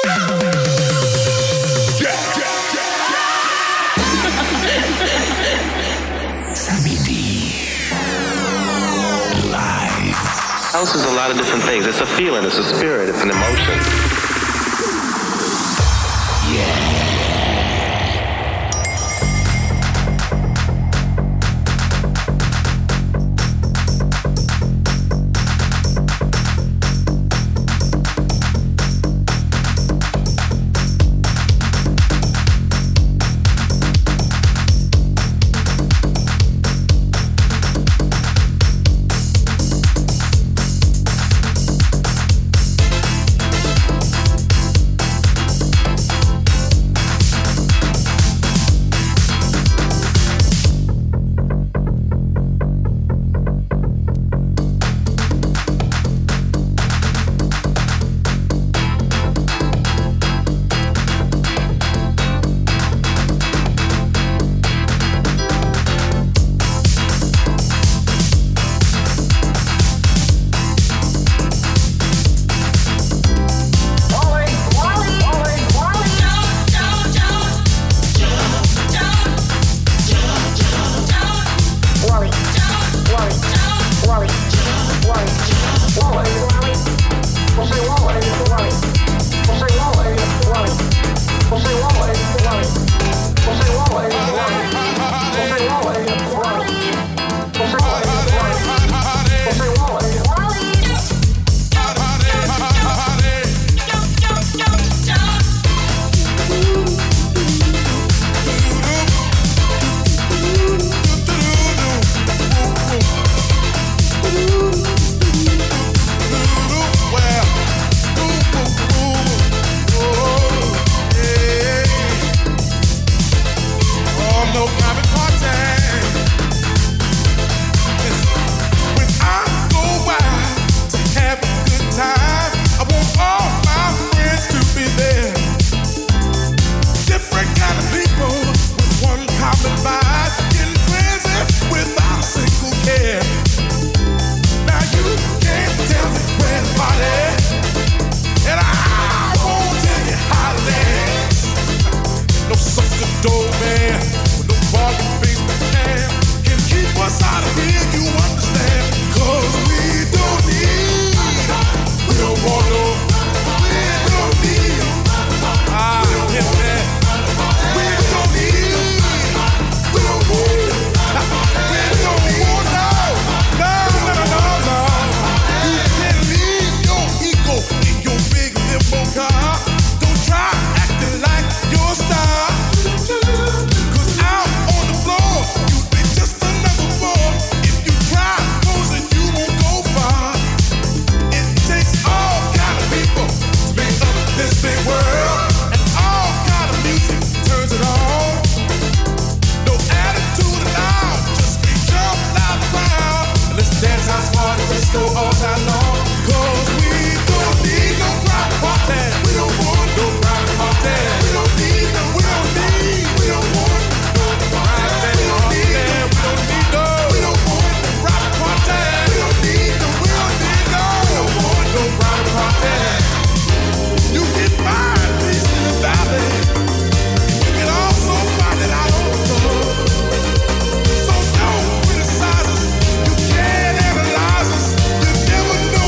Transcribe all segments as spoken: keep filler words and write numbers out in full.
House is a lot of different things. It's a feeling, it's a spirit, it's an emotion. Yeah. Never know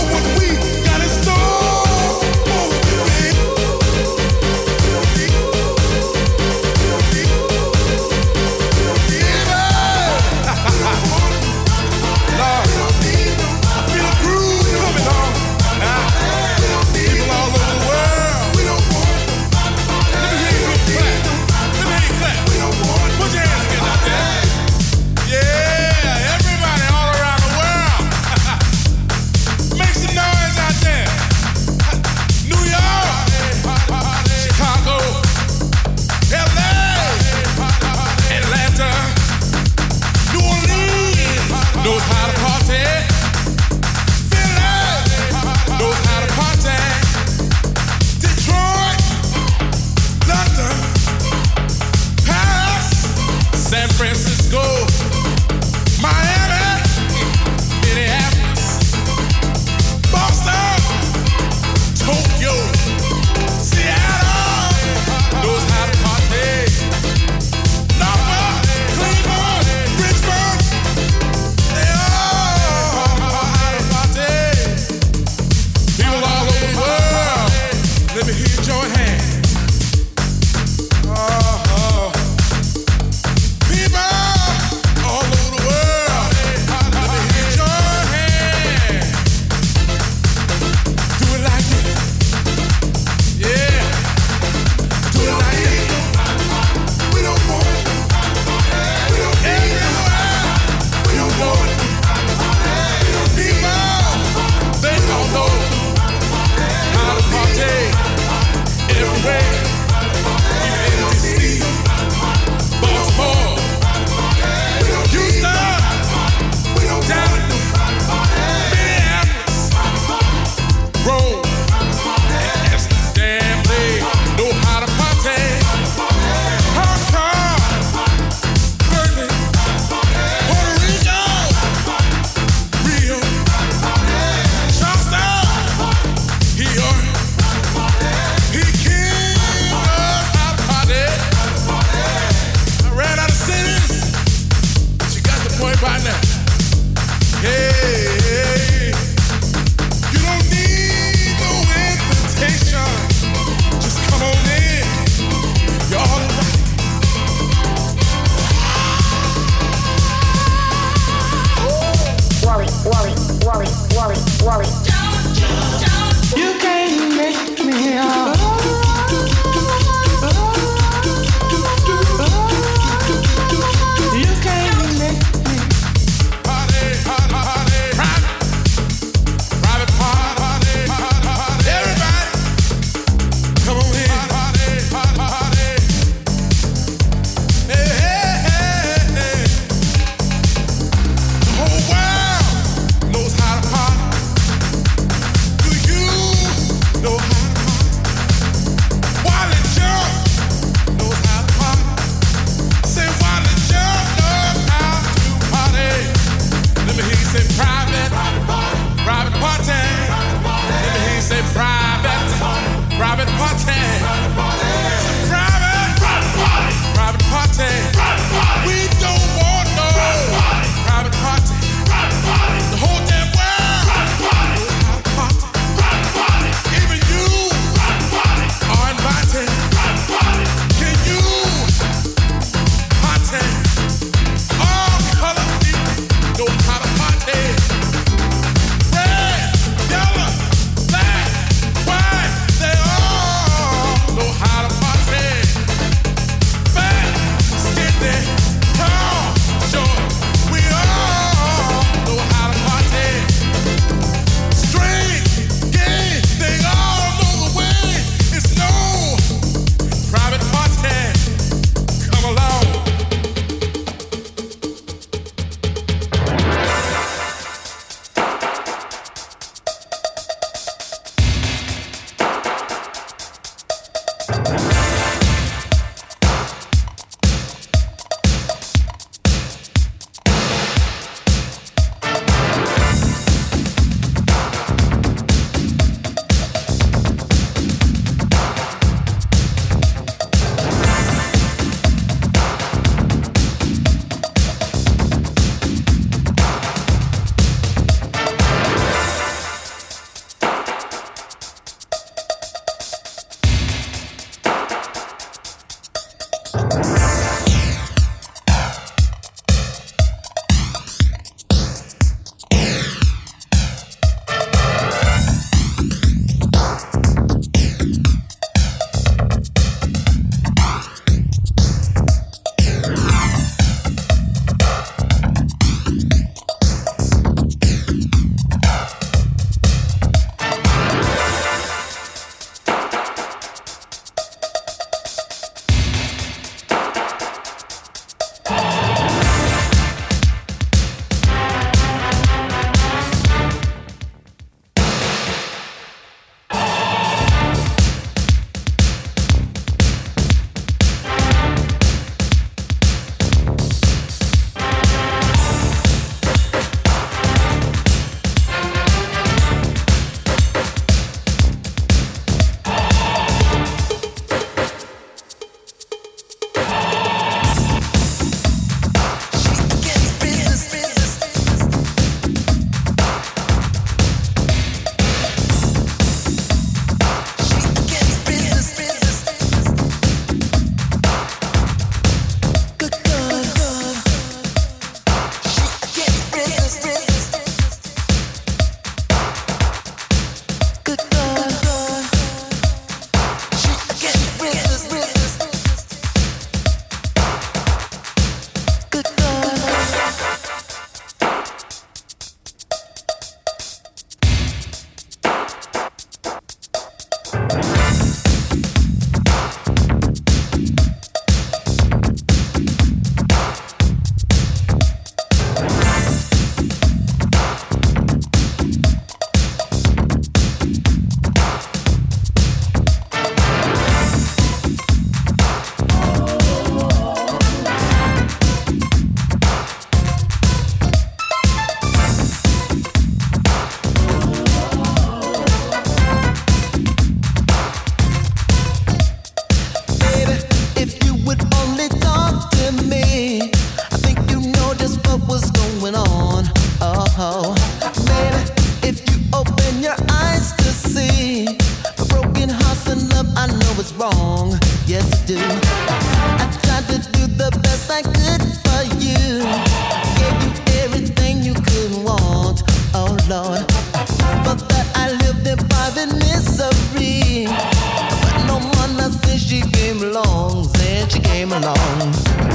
came along.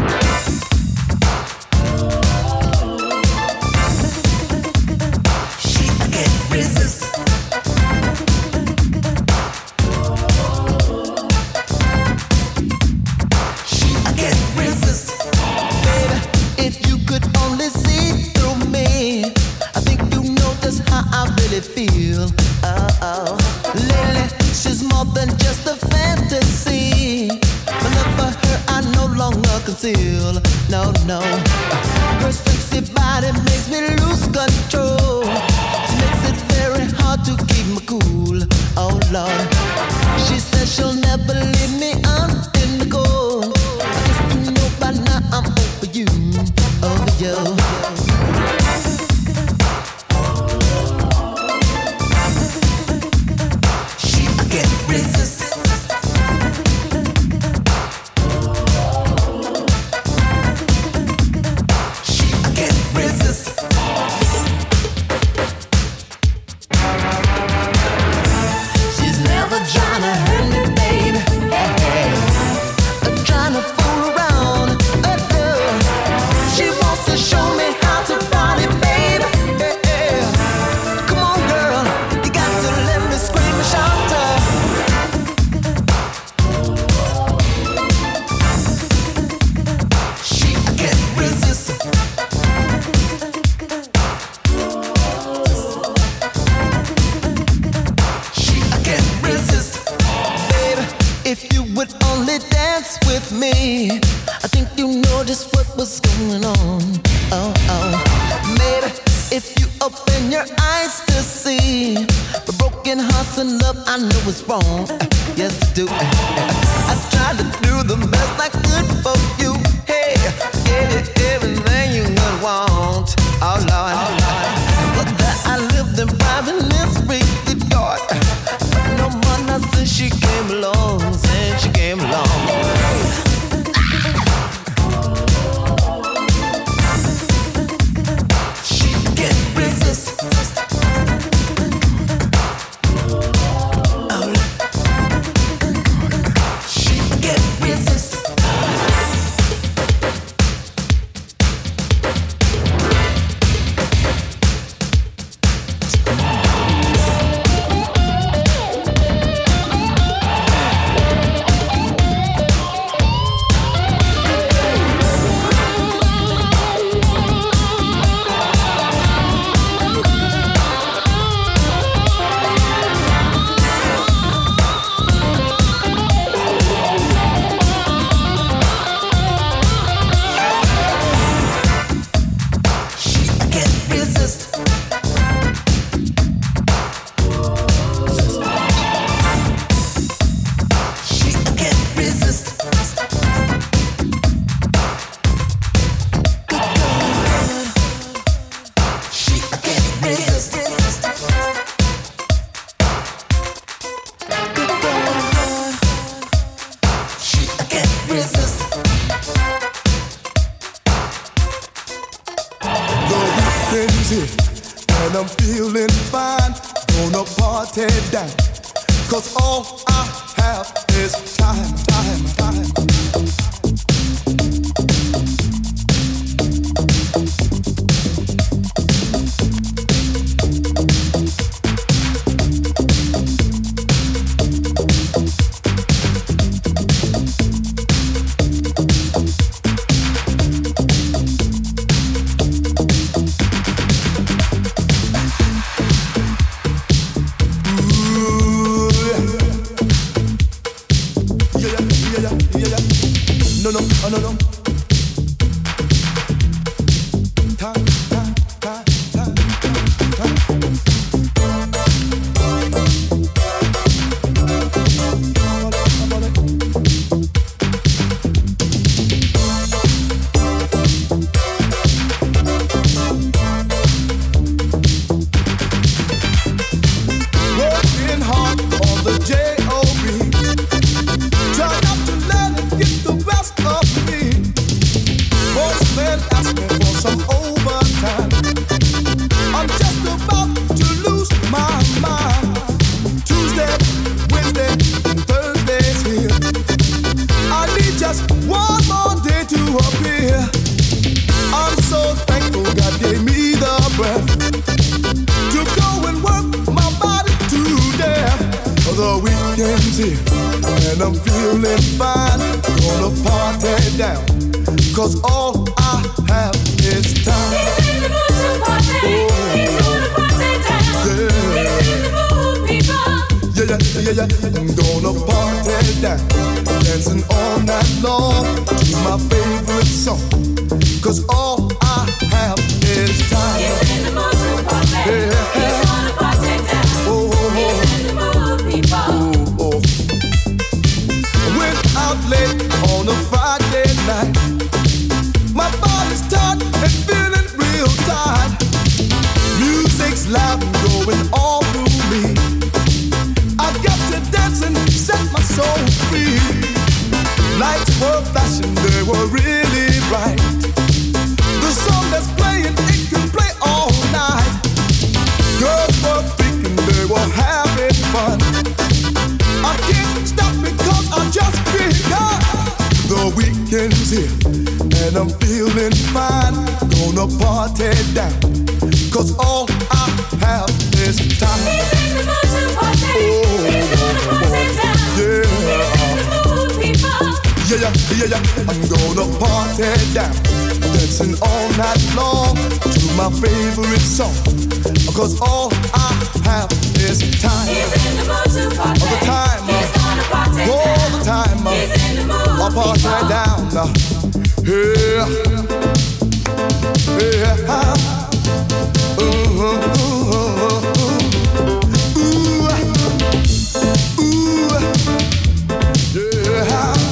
She can't resist. She can't resist. Baby, if you could only see through me, I think you know just how I really feel. Oh, lately she's more than just a fantasy. My love for her I no longer conceal. No, no. Her sexy body makes me lose control. She makes it very hard to keep me cool. Oh Lord, she says she'll never leave me out in the cold. I guess you know by now I'm over you, over you. And I'm feeling fine, gonna party down. Cause all I have is time, time, time. No, no, oh, no, no. Time, time, time, time, time. Working hard on the J O B. Try not to let it get the best of me. The weekend's here and I'm feeling fine. Gonna party down, cause all I have is time. He's in the mood to party. Oh. He's gonna party down. Yeah. He's in the mood, people. Yeah, yeah, yeah, yeah. I'm gonna party down, dancing all night long to my favorite song. Cause all I have is time. He's in the mood to party. Yeah. He's gonna party down. Oh, oh, oh. He's in the mood, people. Oh, oh. Went out late on a Friday night. My body's tired and feeling real tired. Music's loud and going all through me. I got to dance and set my soul free. Lights were flashing, they were really bright. The song that's playing, it can play all night. Girls were thinking they were having fun. I can't stop because I just begun. The weekend's here and I'm feeling fine. Gonna party down, cause all I have is time. He's in the mood to party. Oh, he's gonna party down. Yeah. He's in the mood, people. Yeah, yeah, yeah, yeah. I'm gonna party down, dancing all night long to my favorite song. Cause all I have is time. He's in the mood to party. All the time. He's gonna party down. All the time. He's in the mood, I'll party people. down. Yeah. Yeah. Ooh, ooh, ooh, ooh. Ooh. Yeah.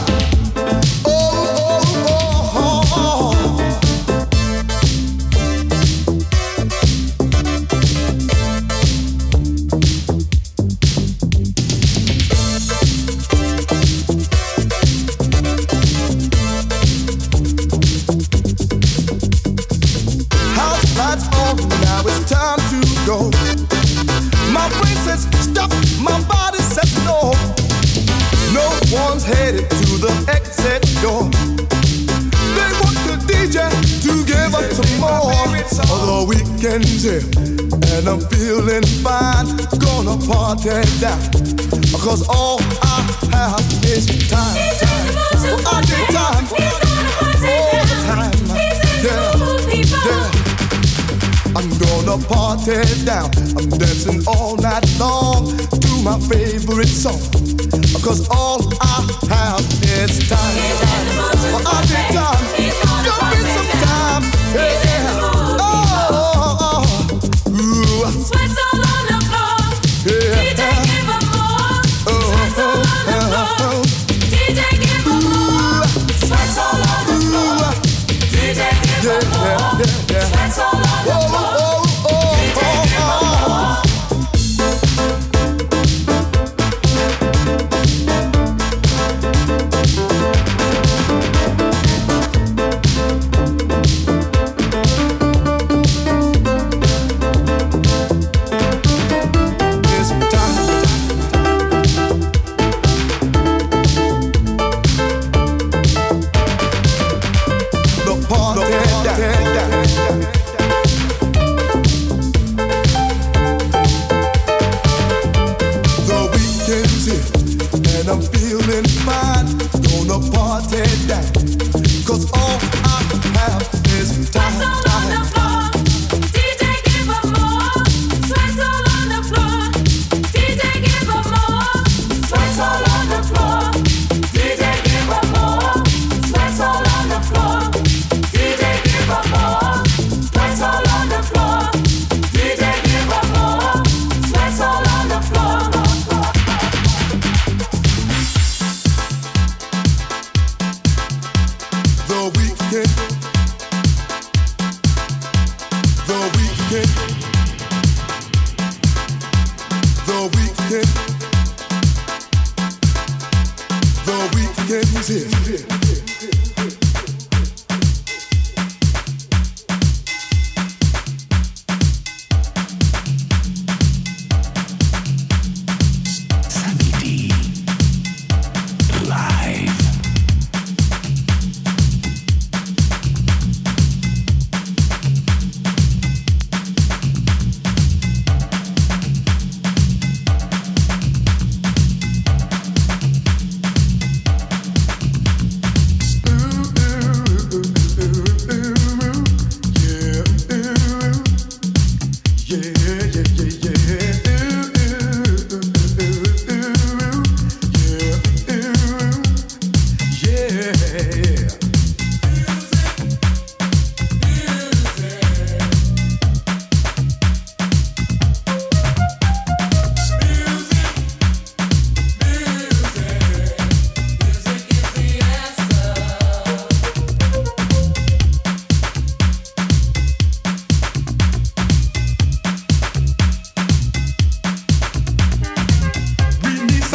Headed to the exit door. They want the D J to give up some more. The weekend's here and I'm feeling fine. Gonna party down, cause all I have is time. Time. Oh, I need time. All the time. Yeah. Yeah. I'm gonna party down. I'm dancing all night long to my favorite song. Cause all I have is time. Well, I need time. Give me some time. Yeah. Oh, oh, oh. Ooh. Sweats all on the floor. Yeah. D J give them more. Sweats all on the floor. D J give them more. Sweats all on the floor. D J give them more. Sweats all on the floor. D J give them more.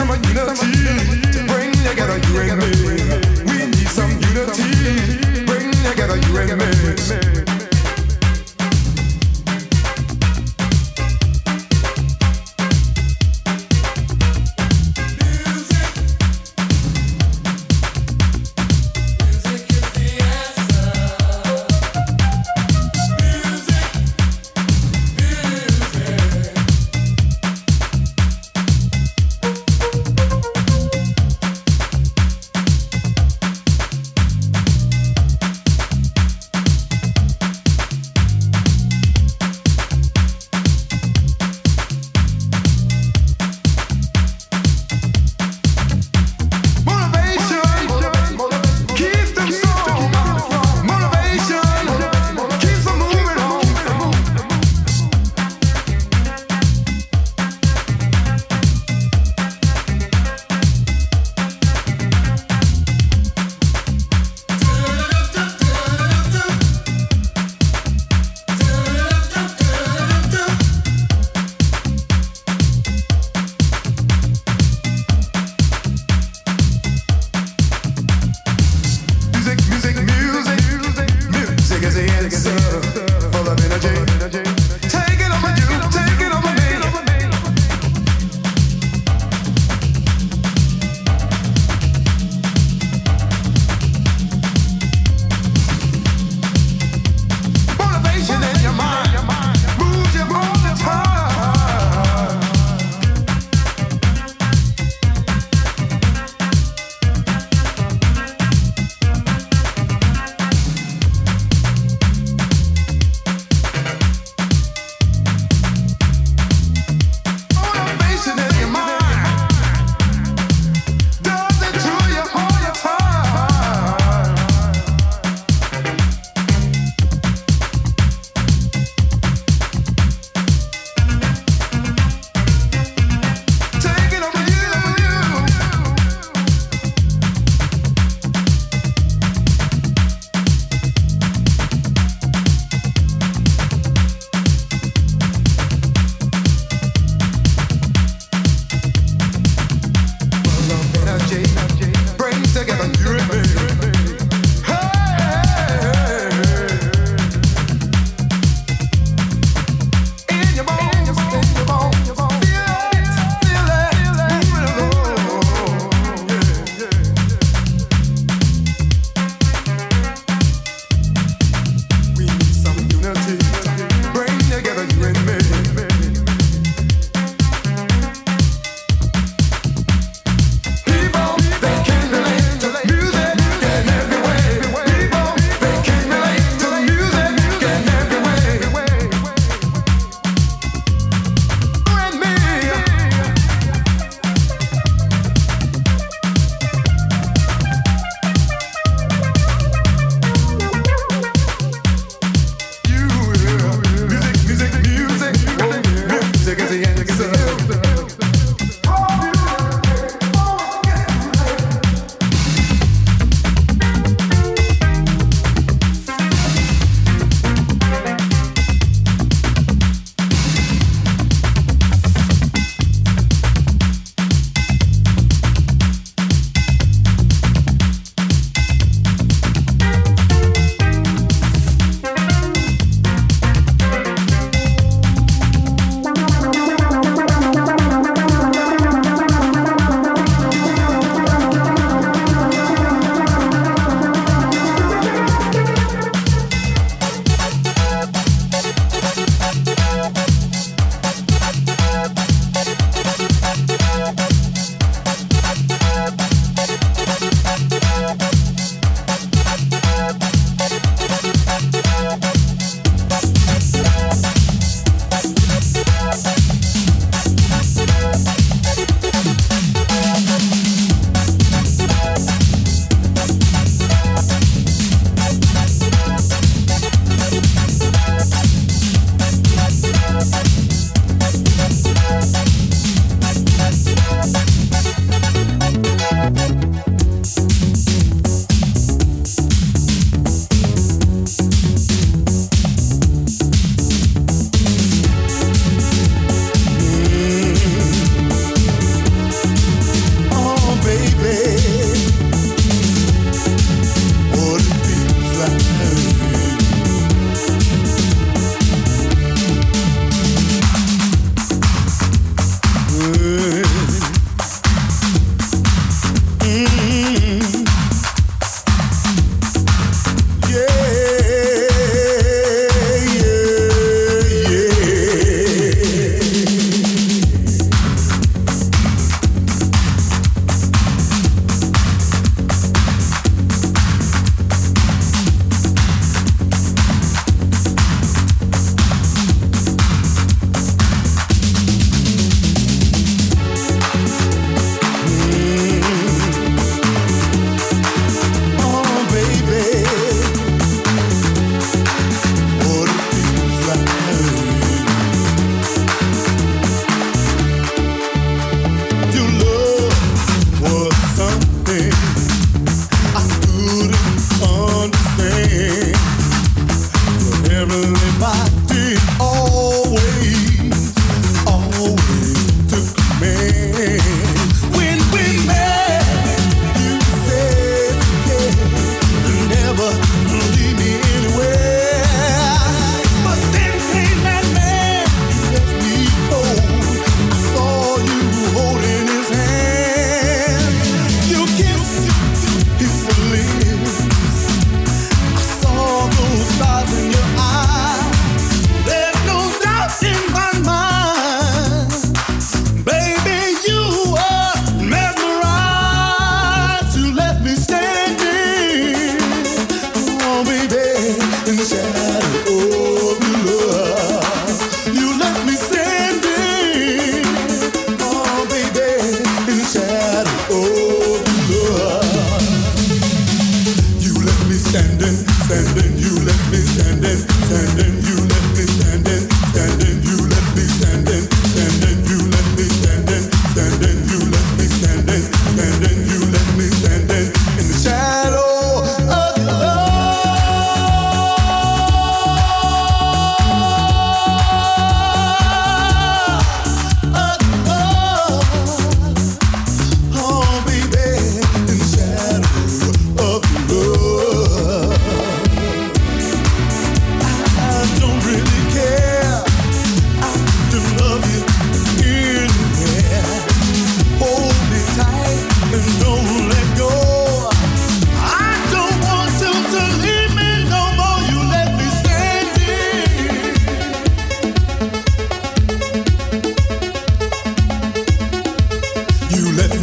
some unity to bring together you and me. We need some unity, bring together you and me.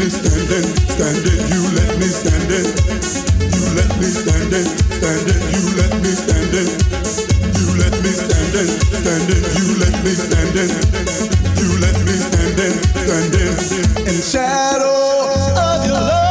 me standing, standing, you let me standing. You let me standing, standing, you let me standing. You let me standing, standing, you let me standing. You let me standing, standing in the shadow of your love.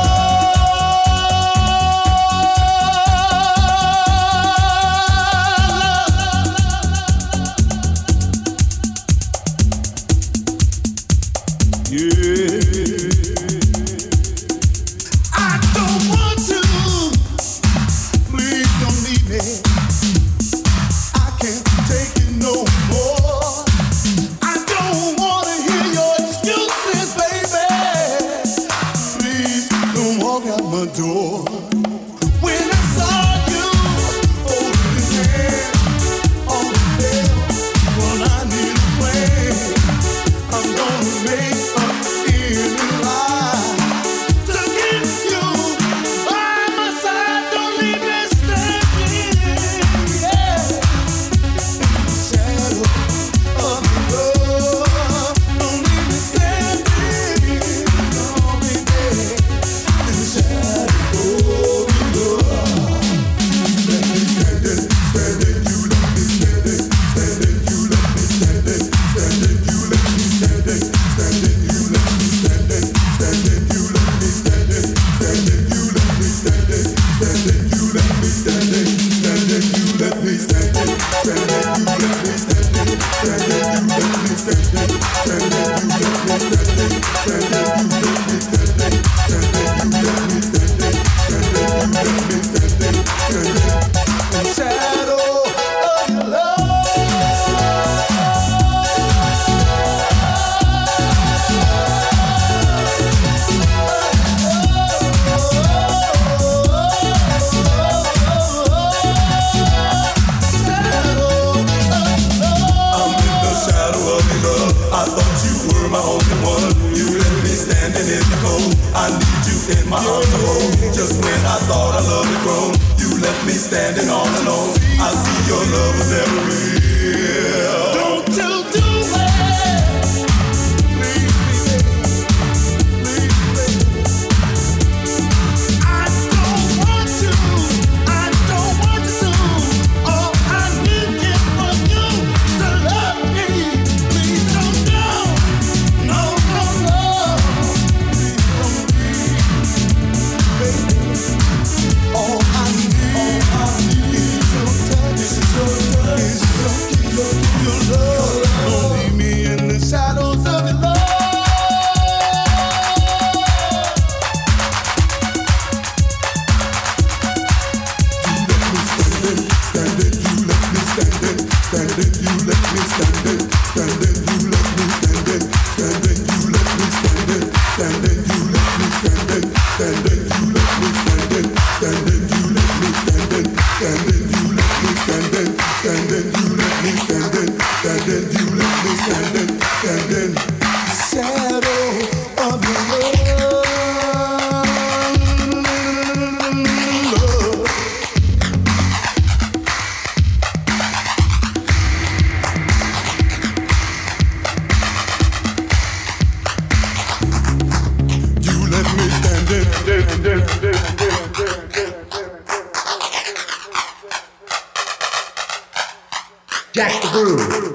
Jack the Groove.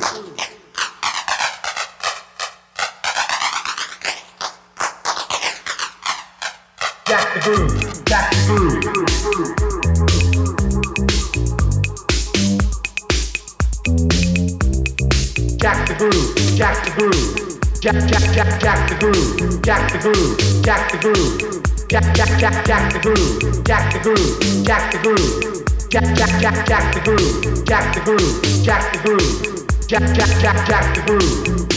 Jack the Groove. Jack the Groove. Jack the Groove. Jack the Groove. Jack Jack Jack Jack the Groove. Jack the Groove. Jack the Groove. Jack Jack Jack Jack the Groove. Jack the Groove. Jack the Groove. Jack Jack Jack Jack the Groove. Jack the Groove. Jack the Groove. Jack Jack Jack Jack the Groove.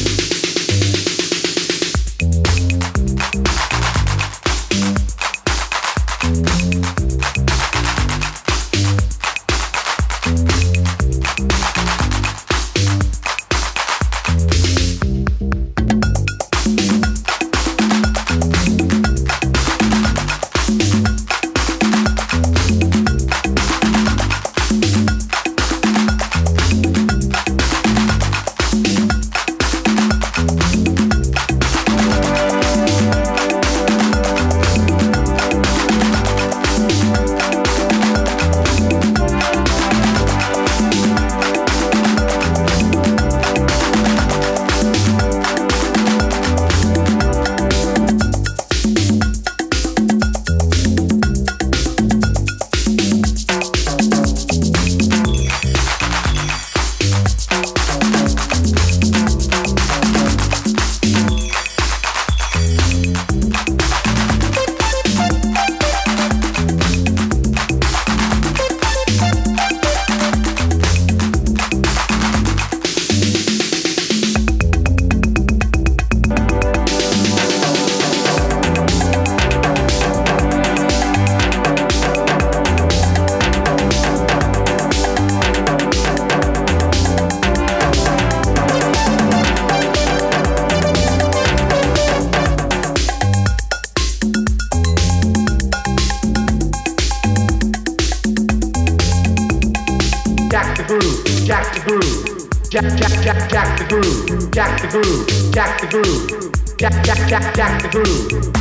groove, jack the groove, jack jack jack jack the groove, jack the groove, jack the groove, jack jack jack jack the groove.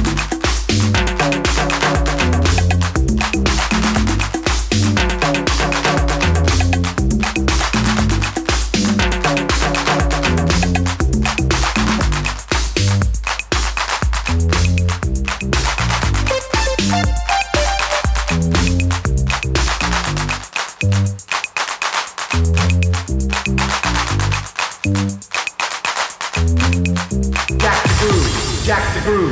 Jack the groove.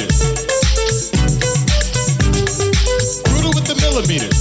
millimeters. Brutal with the millimeters.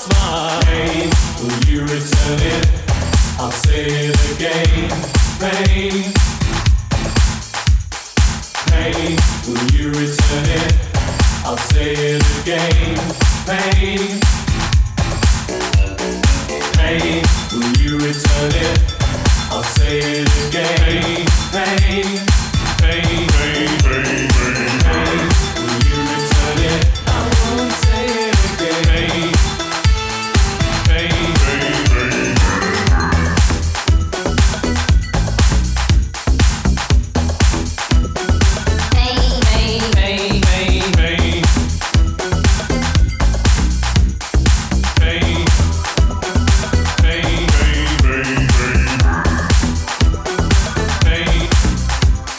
smile. Pain, will you return it? I'll say it again. Pain, pain, will you return it? I'll say it again. Pain, pain, will you return it? I'll say it again. Pain, pain, pain, pain, pain, pain, will you return it? I won't say it again. Pain, pain, pain, pain,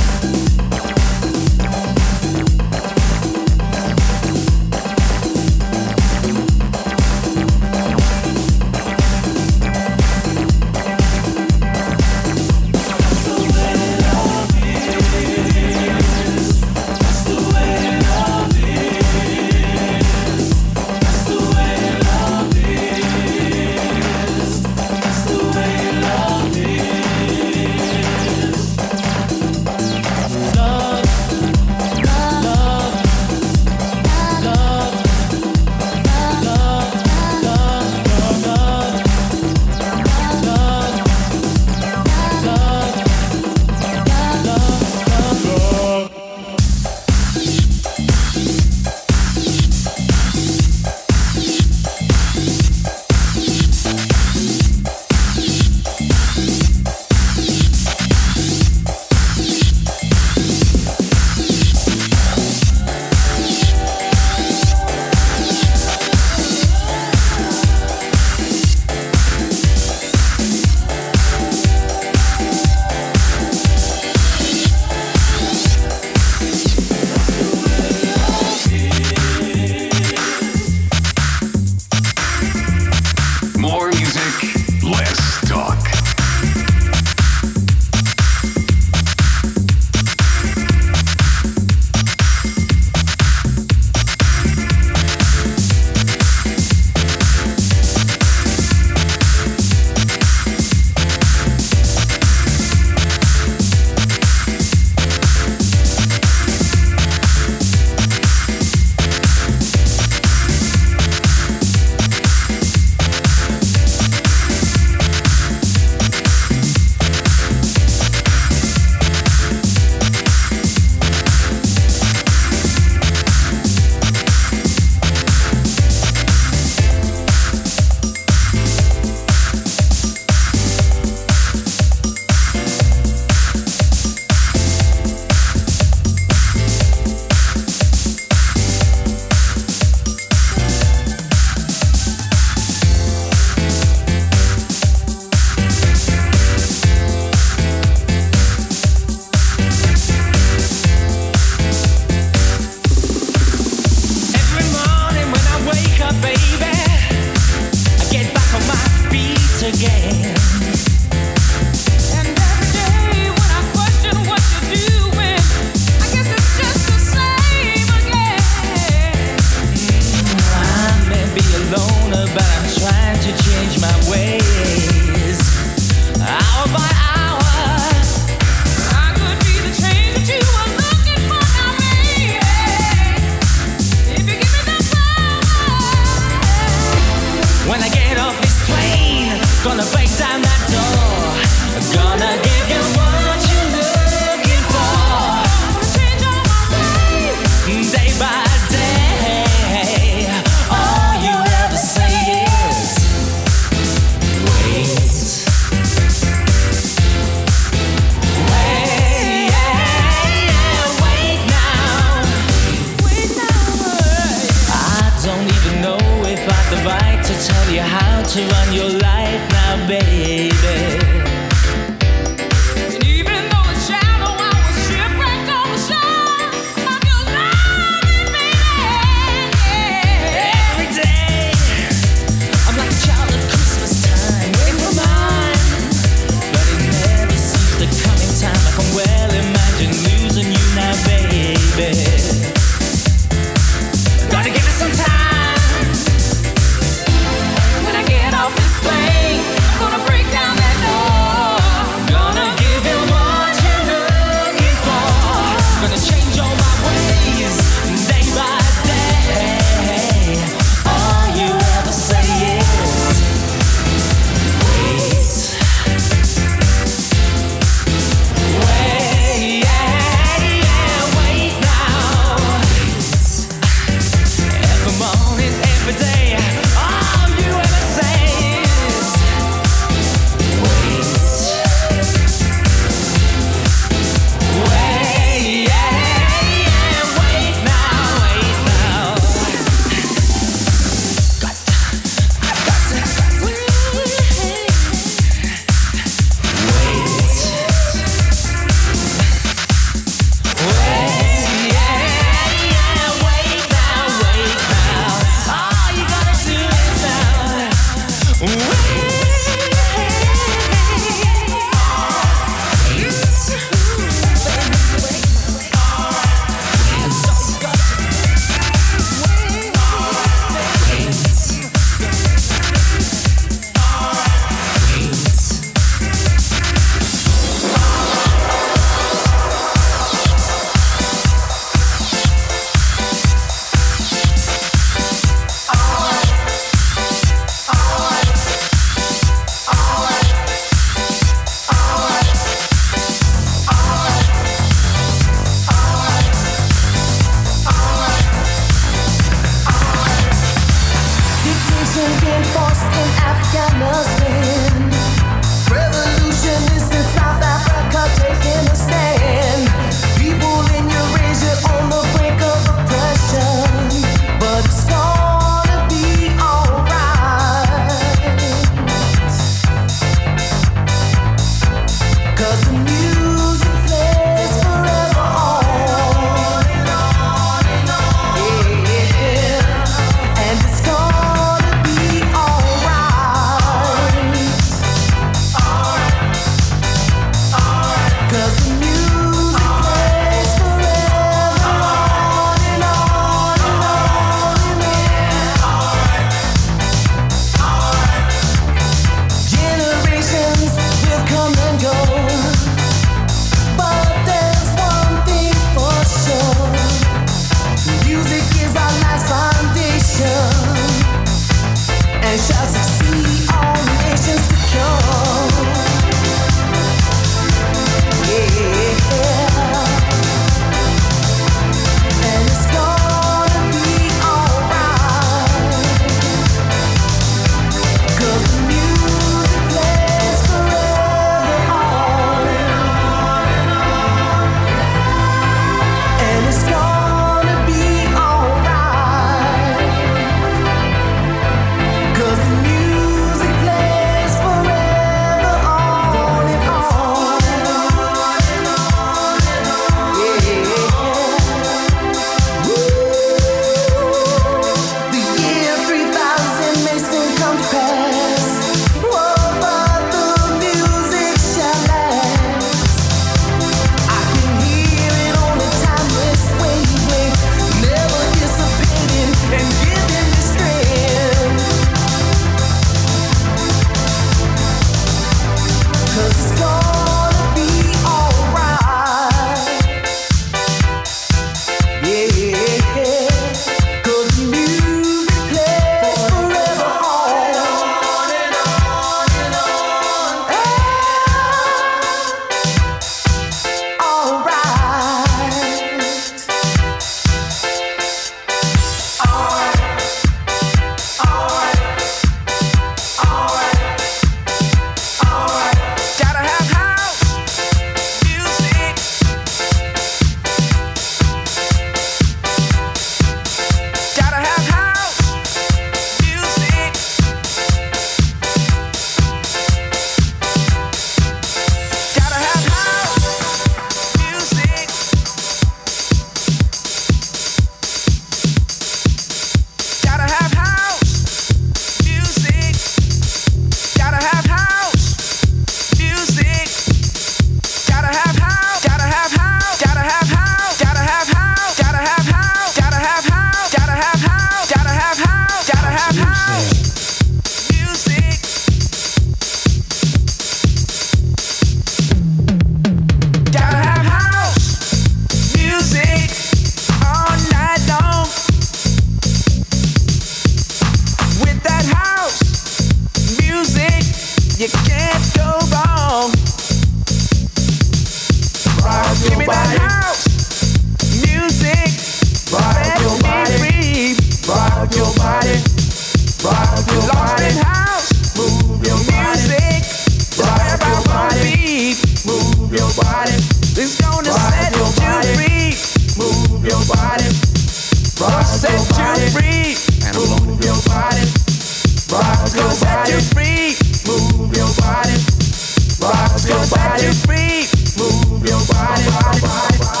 Move your body. It's gonna set you free. Move your body. Rock set you free. And move your body. Rock your body. Set you free. Move your body. Rock your body. Set you free. Move your body. Body, body, body.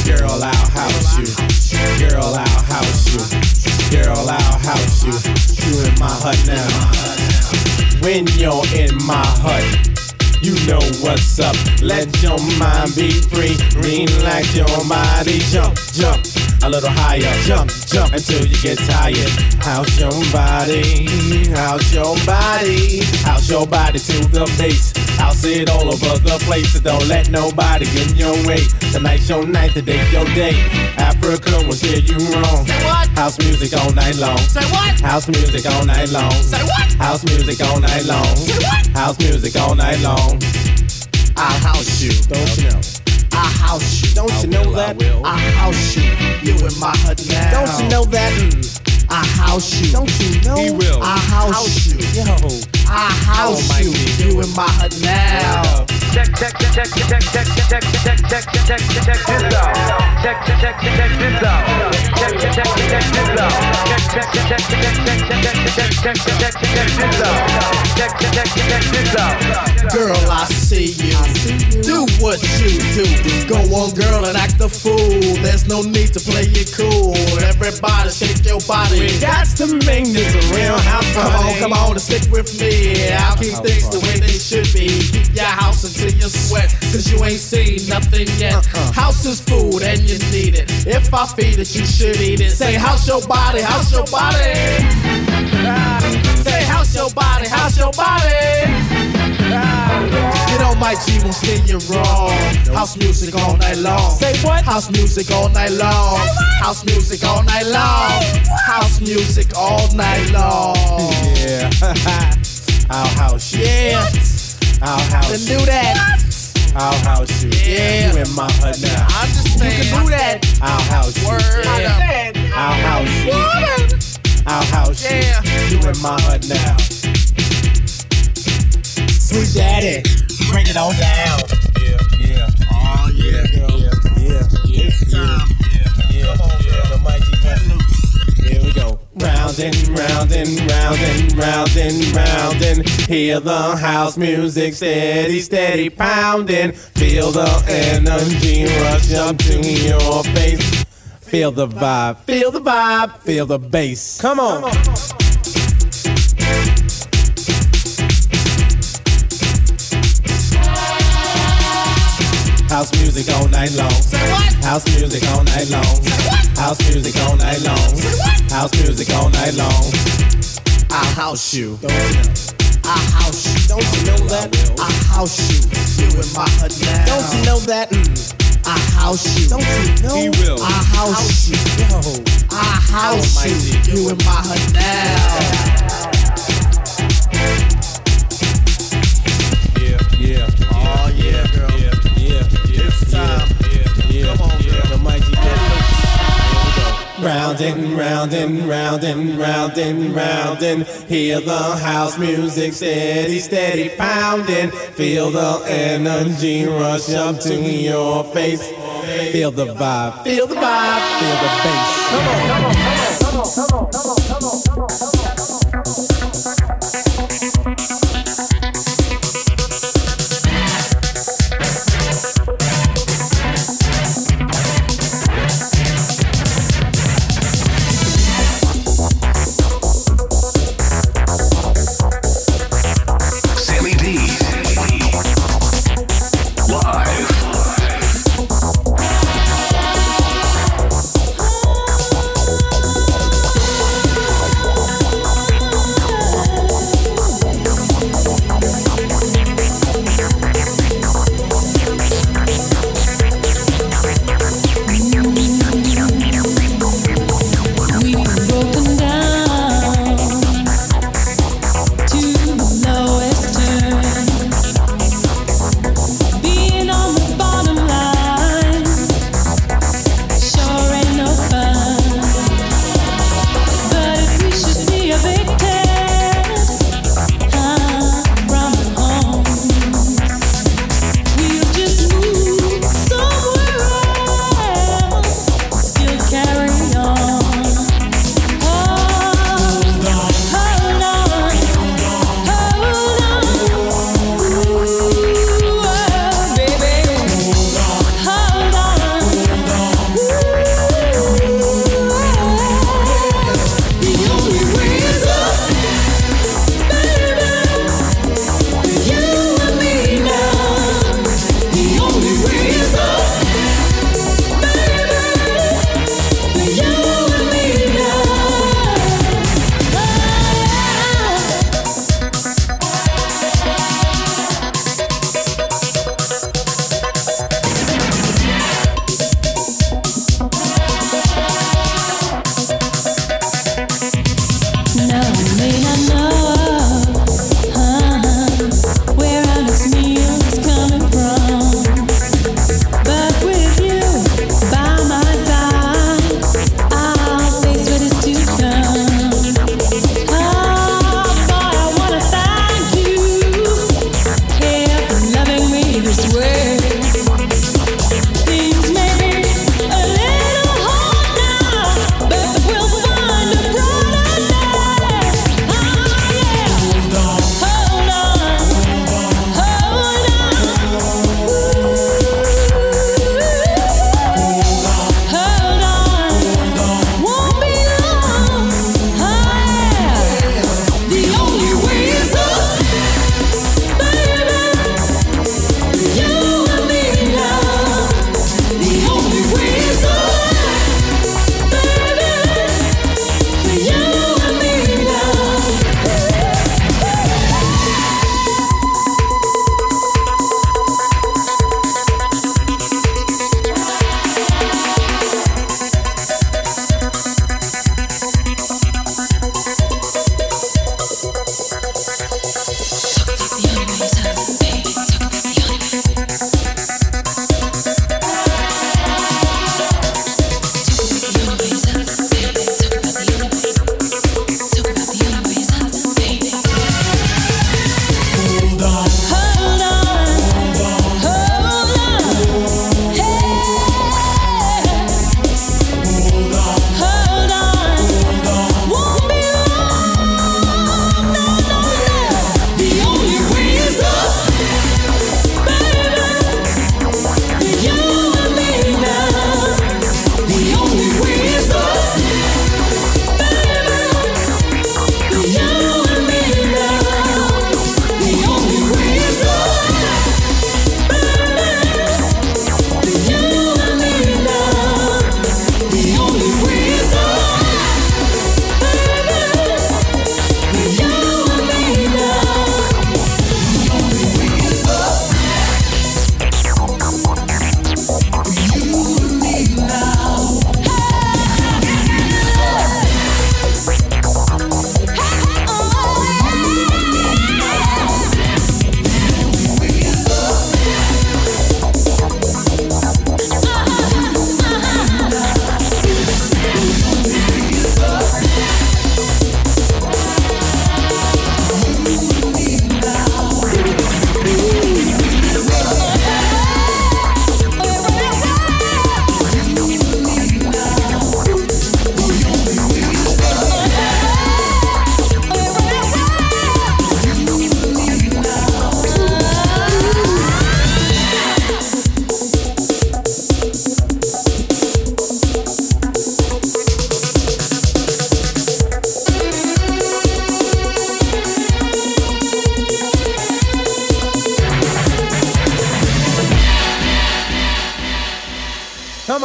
Girl, I'll house you. Girl, I'll house you. Girl, I'll house you. You in my hut now. When you're in my hut, you know what's up. Let your mind be free. Relax your body. Jump, jump a little higher. Jump, jump until you get tired. House your body. House your body. House your body to the base. House it all over the place. So don't let nobody get in your way. Tonight's your night, today's your day. Africa will steer you wrong. Say what? House music all night long. Say what? House music all night long. Say what? House music all night long. Say what? House music all night long. I'll house you. Don't you know? I'll house you. Don't you know that? I'll house you. You in my hut now. Don't you know that? I'll house you. Don't you know? He will. I'll house you. Yo. I'll house you. You in my hut now. Check, check, check, check, check, check, check, check, check, check, check, check this out. Check, check, check, check this out. Check, check, check, check this out. Check, check, check, check, check, check, check, check, check, check, check this out. Check, check, check, check this out. Girl, I see you. Do what you do. Go on, girl, and act the fool. There's no need to play it cool. Everybody shake your body. We got to make this a real house Come party. on, come on, and stick with me. I'll keep things the way they should be. Keep your house until you sweat, cause you ain't seen nothing yet. Uh-uh. House is food and you need it. If I feed it, you should eat it. Say, house your body, house your body. Ah, say, house your body, house your body. Ah, you know my G won't steer you wrong. House music all night long. Say what? House music all night long. House music all night long. House music all night long. Yeah. I'll house you. Yeah, I'll house then you. do that. I'll house you. Yeah. You in my hut now. I understand. You can do that. I'll house you. Word. Yeah. I'll house you. I'll house you. Yeah. You in my hut now. Sweet daddy, bring it on down. Yeah, yeah. Oh yeah, girl. Yeah, yeah, yeah. It's time. Yeah, yeah, Come on, yeah. girl. The mighty Pet. Here we go. Round and round and round and round and round and hear the house music steady, steady pounding. Feel the energy rush up to your face. Feel the vibe, feel the vibe, feel the bass. Come on. Come on. House music all night long. Say what? House music all night long. Say what? House music all night long. Say what? House music all night long. I'll house you. Don't you know? I'll house you. Don't you know that? I'll house you. You in my hut now. Don't you know that? I'll house you. Don't you know? He will. I'll house you. Yo. I'll house you. You in my hut now. Yeah, yeah. Oh yeah, girl. Yeah, yeah, yeah. It's time. Yeah, yeah. Come on, yeah. girl. The mighty Pet. Here we go. Round and round and round and round and round and hear the house music steady, steady pounding. Feel the energy rush up to your face. Feel the vibe, feel the vibe, feel the bass. Come on, come on, come on, come on, come on, come on, come on, come on. Sammy D. Live.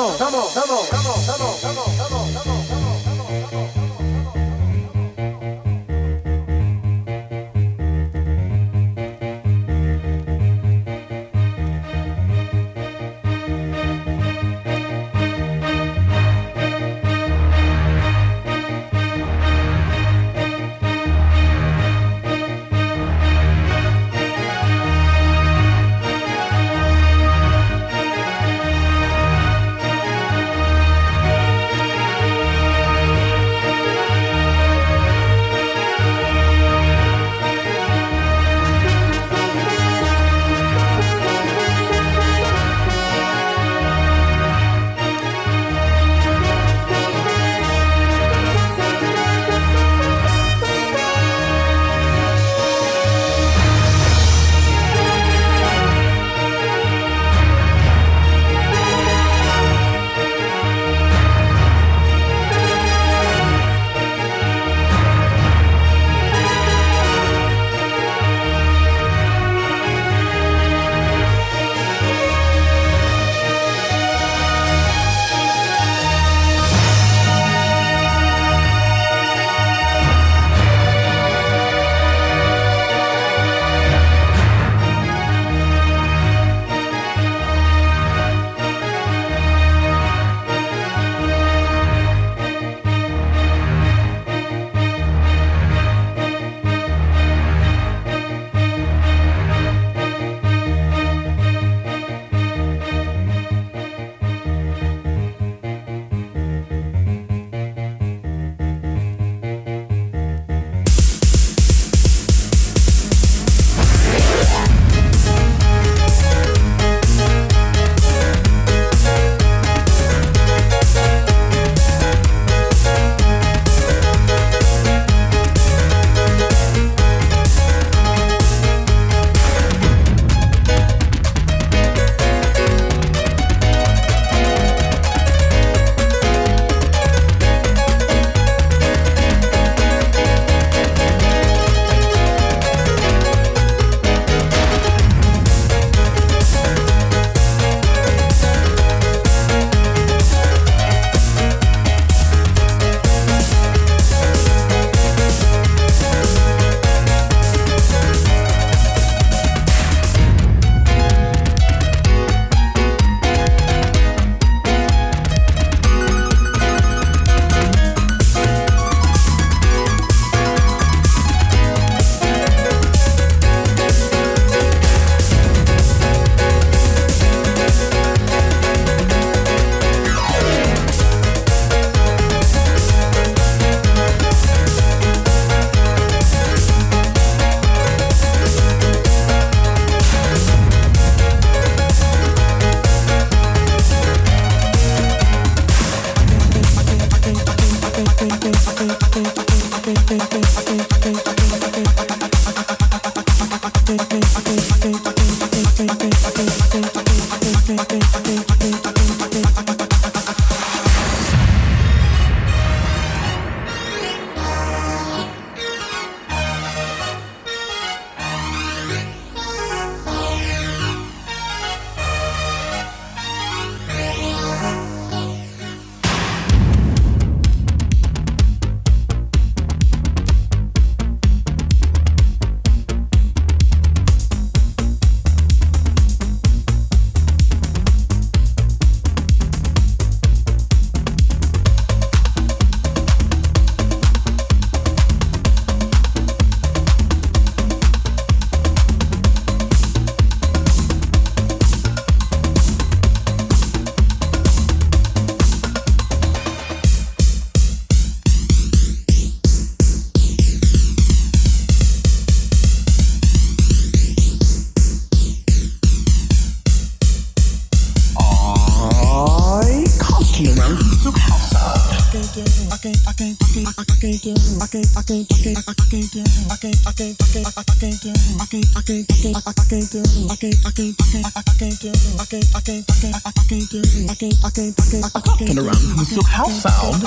on, come on, come on, come on, come on, come on, come on, come on, come on. I can't, I can't, I can't, Talking around the Silk House sound.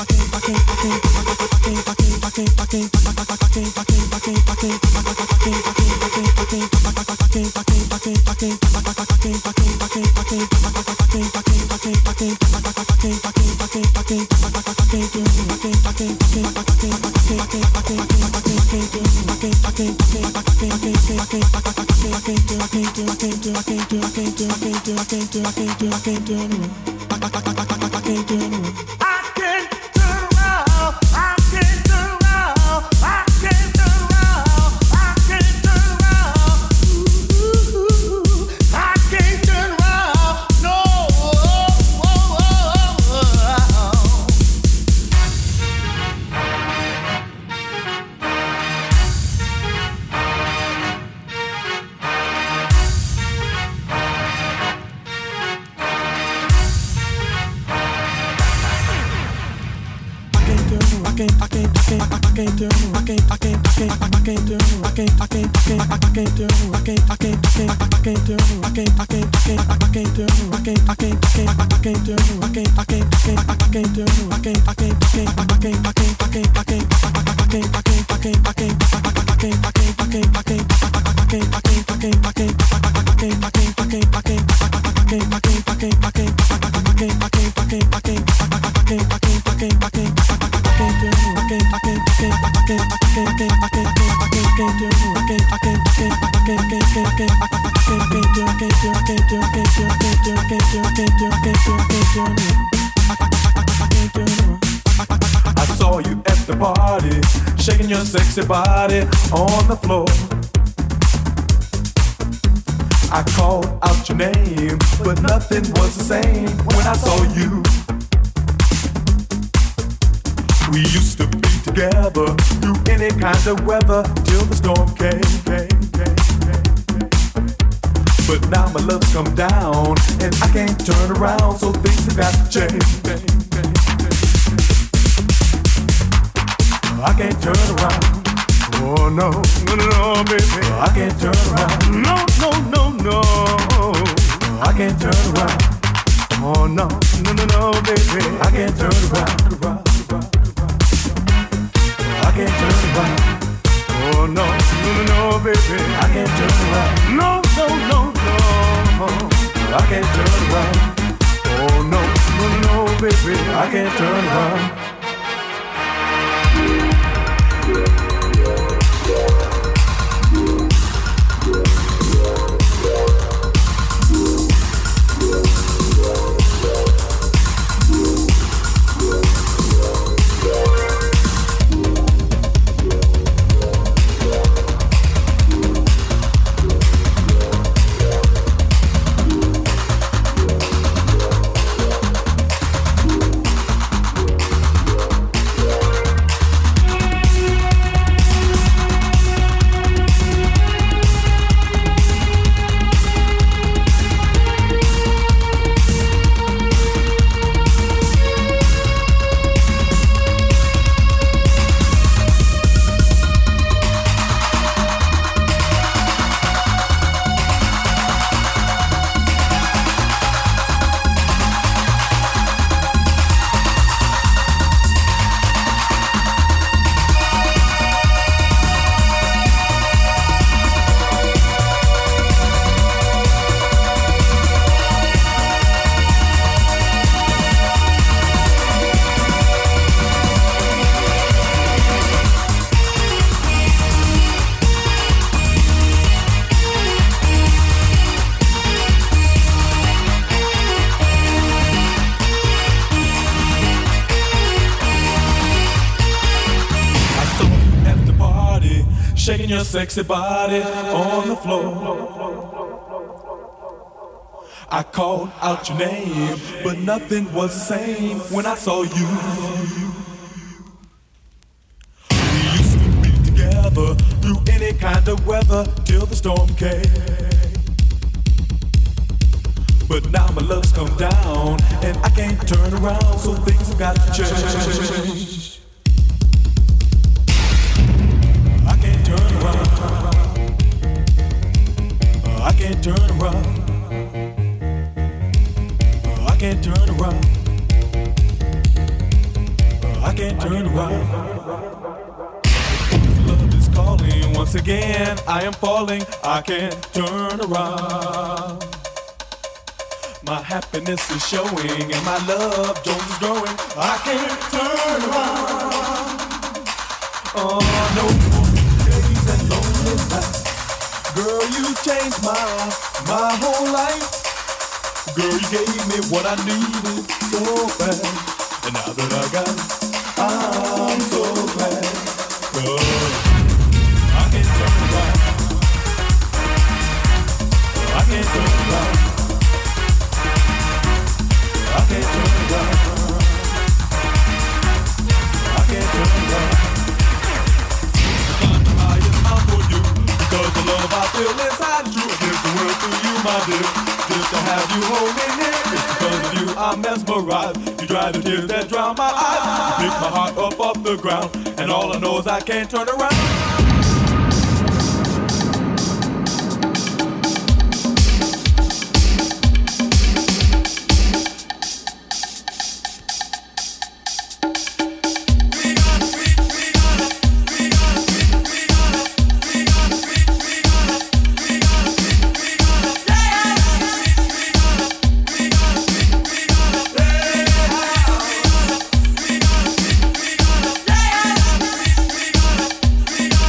I saw you at the party, shaking your sexy body on the floor. I called out your name, but nothing was the same when I saw you. We used to be together through any kind of weather till the storm came, came, came, came, came. But now my love's come down and I can't turn around, so things have got to change. I can't turn around. Oh no, no, no, no, baby. I can't turn around. No, no, no, no. I can't turn around. Oh no, no, no, no, baby. I can't turn around. I can't turn around. Oh no, no, no, no, baby. I can't turn around. No, no, no, no. I can't turn around. Oh no, no, no, no, baby. I can't turn around. Shaking your sexy body on the floor. I called out your name, but nothing was the same when I saw you. We used to be together through any kind of weather till the storm came. But now my love's come down and I can't turn around, so things have got to change. around. I can't turn around. I can't turn around. I can't turn around. Love is calling once again. I am falling. I can't turn around. My happiness is showing and my love Jones is growing. I can't turn around. Oh, no more days and lonely nights. Girl, you changed my my whole life. Girl, you gave me what I needed so bad. And now that I got it, I'm so glad. Cause I can't turn around. I can't turn around. I can't turn around. I can't turn around. I'm the highest out for you because the love I feel inside you. I give the world to you, my dear, just to have you hold me near. It's because of you I'm mesmerized. You dry the tears that drown my eyes. You pick my heart up off the ground, and all I know is I can't turn around. Yeah.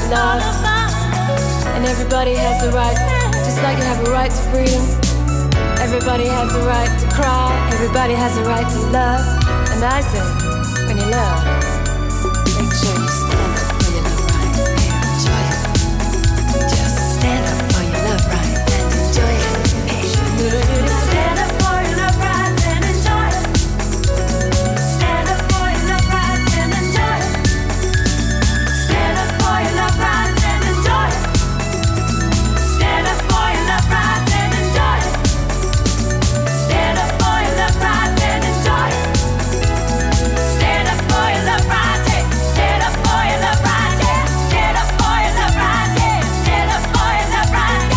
love. And everybody has the right, just like you have a right to freedom. Everybody has the right to cry. Everybody has the right to love. And I say, when you love, make sure you stand up for your love rights and enjoy it. Just stand up for your love rights and enjoy it. Stand up for your love rights and enjoy it. Stand up for your love rights and enjoy it. Stand up for your love rights and enjoy it. Stand up for your love rights and enjoy it. Stand up for your love rights and enjoy it. Stand up for your love rights. Stand up for your love rights. Stand up for your love rights. Stand up for your love rights.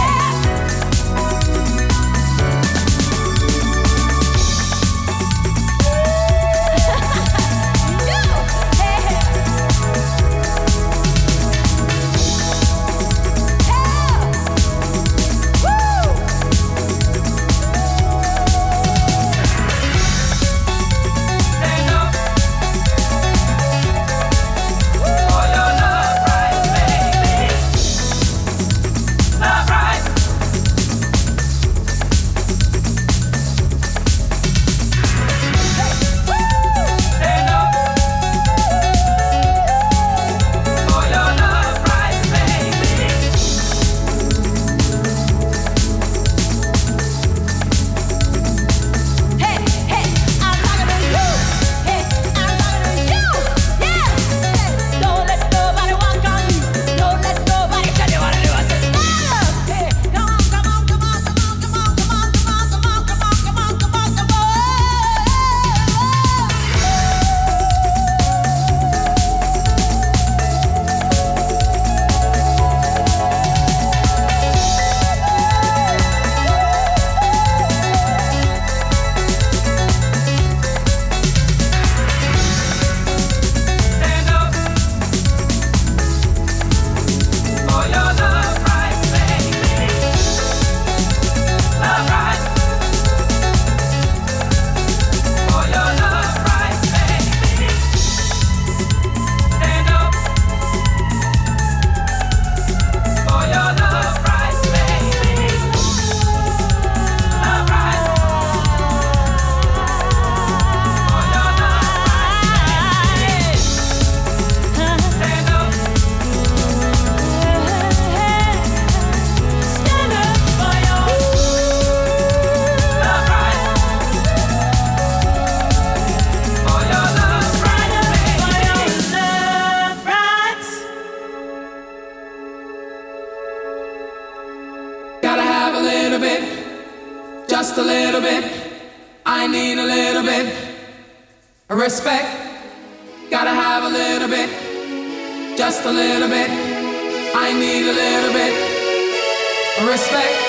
Just a little bit. I need a little bit. Respect. Gotta have a little bit. Just a little bit. I need a little bit. Respect.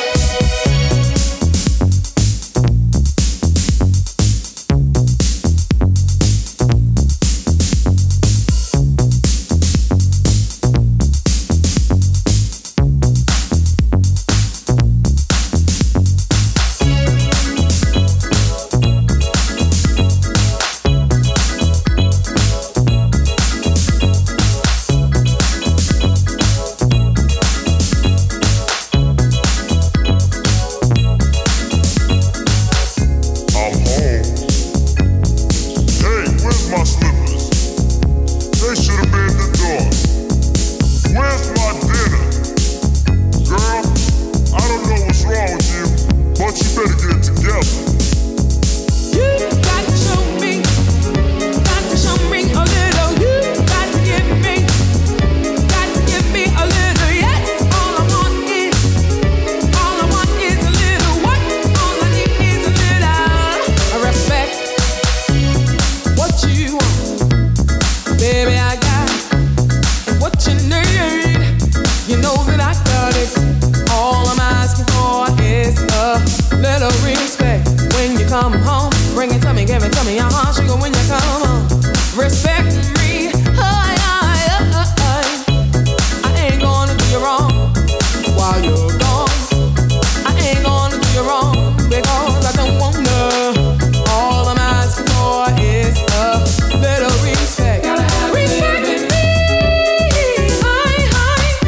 Little respect. Gotta have respect me. Hi, hi.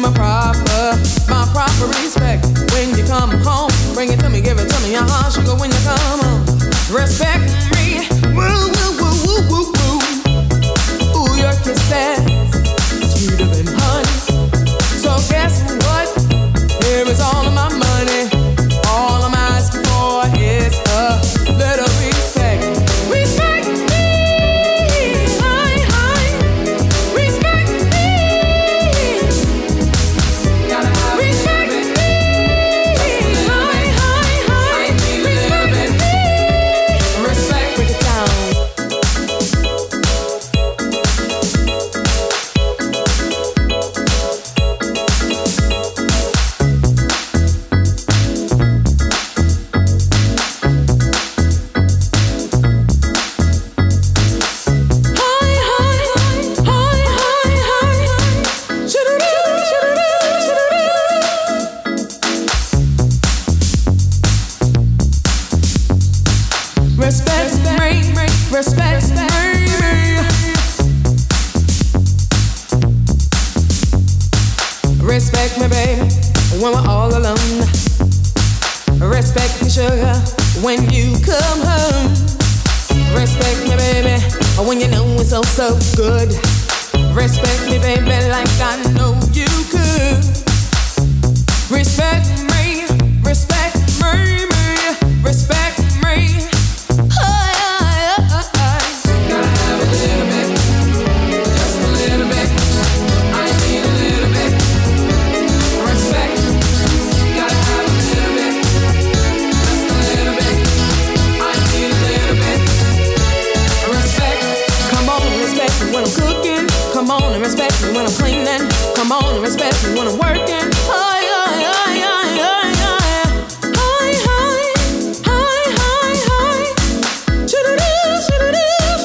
my proper, my proper respect. When you come home, bring it to me, give it to me, uh-huh, sugar, when you come home. Respect me, woo, woo, woo, woo, woo, woo. Ooh, your kisses, sweeter than honey. So guess what? Here is all of my money. All I'm asking for is a little respect. Respect me, hi, hi. Respect me. Gotta have respect me, hi, hi, hi. Respect me. Respect, break it down. Respect me, respect me. Respect me, baby, when we're all alone. Respect me, sugar, when you come home. Respect me, baby, when you know it's so, so good. Respect me, baby, like I know you could. Respect me, respect me, me, respect me. Gotta have a little bit, just a little bit. I need a little bit respect. Gotta have a little bit, just a little bit. I need a little bit respect. Come on and respect me when I'm cooking. Come on and respect me when I'm cleaning. Come on and respect me when I'm working. Oh, yeah, yeah, yeah, yeah, yeah. Hi, hi, hi, hi, hi. Shoo-doo-doo, shoo-doo-doo.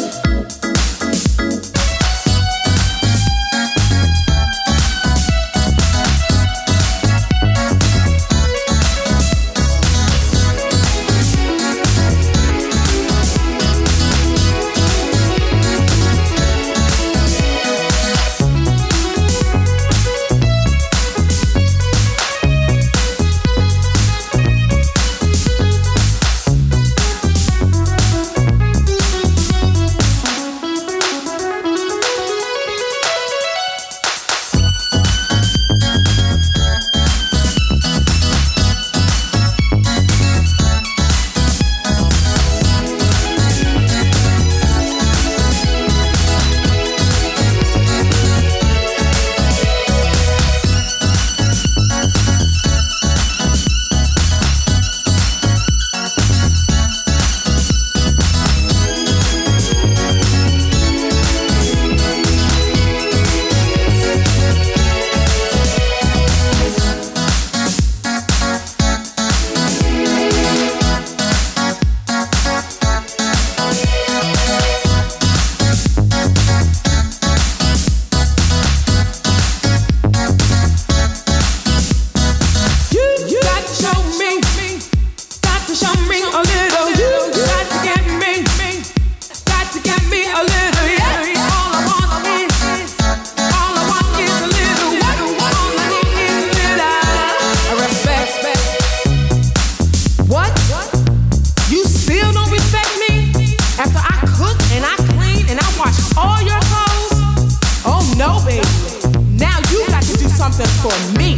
For me.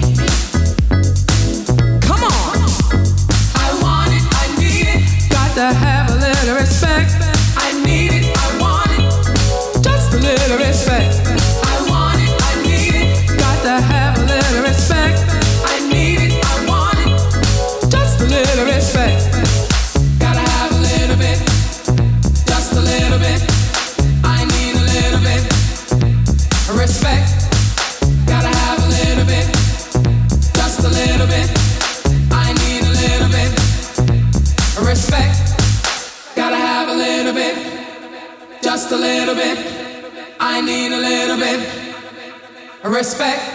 Come on. I want it, I need it. Got to have a little respect. I need it, I want it. Just a little respect. I want it, I need it. Got to have a little respect. I need it, I want it. Just a little respect. Gotta have a little bit. Just a little bit. I need a little bit. Respect. Gotta have a little bit, just a little bit. I need a little bit respect. Gotta have a little bit, just a little bit. I need a little bit respect.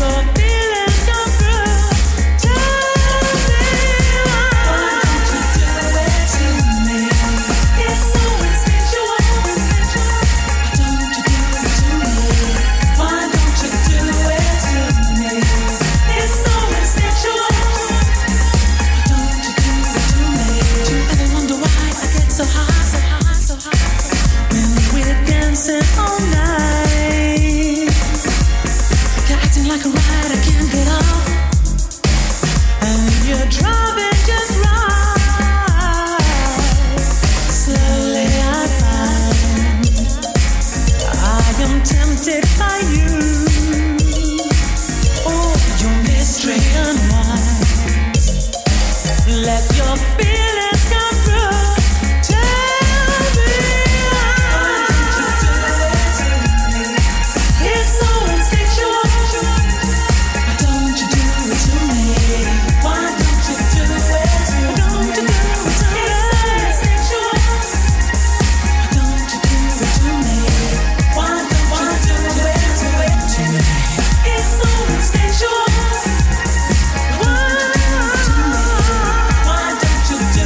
Why don't you do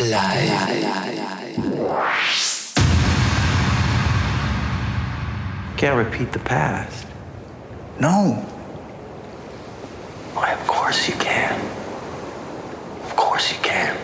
Can't repeat the past. No. Why, of course you can. Of course you can.